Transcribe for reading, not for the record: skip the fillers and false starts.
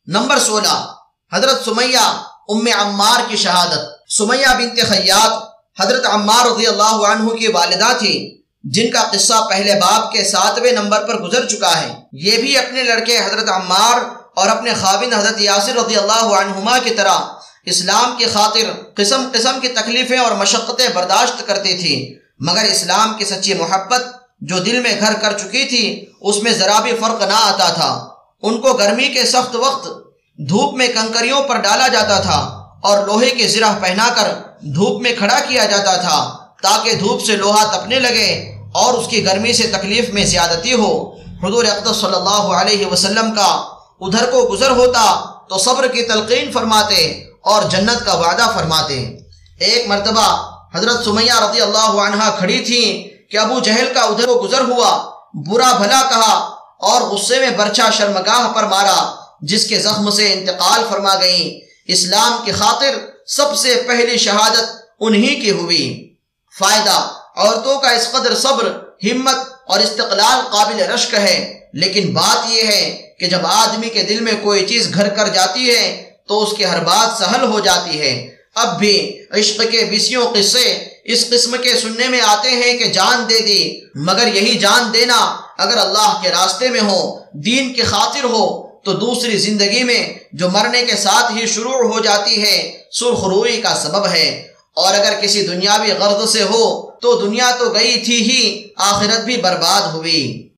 Number 16، حضرت سمیہ ام عمار کی شہادت۔ سمیہ بنت خیاط حضرت عمار رضی اللہ عنہ کی والدہ تھی، جن کا قصہ پہلے باب کے 7ویں نمبر پر گزر چکا ہے۔ یہ بھی اپنے لڑکے حضرت عمار اور اپنے خاوند حضرت یاسر رضی اللہ عنہما کی طرح اسلام کی خاطر قسم قسم کی تکلیفیں اور مشقتیں برداشت کرتی تھی، مگر اسلام کی سچی محبت جو دل میں گھر کر چکی تھی اس میں ذرا بھی فرق نہ آتا تھا۔ ان کو گرمی کے سخت وقت دھوپ میں کنکریوں پر ڈالا جاتا تھا اور لوہے کی زرہ پہنا کر دھوپ میں کھڑا کیا جاتا تھا تاکہ دھوپ سے لوہا تپنے لگے اور اس کی گرمی سے تکلیف میں زیادتی ہو۔ حضور اقدس صلی اللہ علیہ وسلم کا ادھر کو گزر ہوتا تو صبر کی تلقین فرماتے اور جنت کا وعدہ فرماتے۔ ایک مرتبہ حضرت سمیہ رضی اللہ عنہا کھڑی تھیں کہ ابو جہل کا ادھر کو گزر ہوا، برا بھلا کہا اور غصے میں برچا شرمگاہ پر مارا، جس کے زخم سے انتقال فرما گئیں۔ اسلام کی خاطر سب سے پہلی شہادت انہی کی ہوئی۔ فائدہ: عورتوں کا اس قدر صبر، ہمت اور استقلال قابل رشک ہے، لیکن بات یہ ہے کہ جب آدمی کے دل میں کوئی چیز گھر کر جاتی ہے تو اس کی ہر بات سہل ہو جاتی ہے۔ اب بھی عشق کے 20 قصے اس قسم کے سننے میں آتے ہیں کہ جان دے دی، مگر یہی جان دینا اگر اللہ کے راستے میں ہو، دین کی خاطر ہو، تو دوسری زندگی میں جو مرنے کے ساتھ ہی شروع ہو جاتی ہے سرخ روئی کا سبب ہے، اور اگر کسی دنیاوی غرض سے ہو تو دنیا تو گئی تھی ہی، آخرت بھی برباد ہوئی۔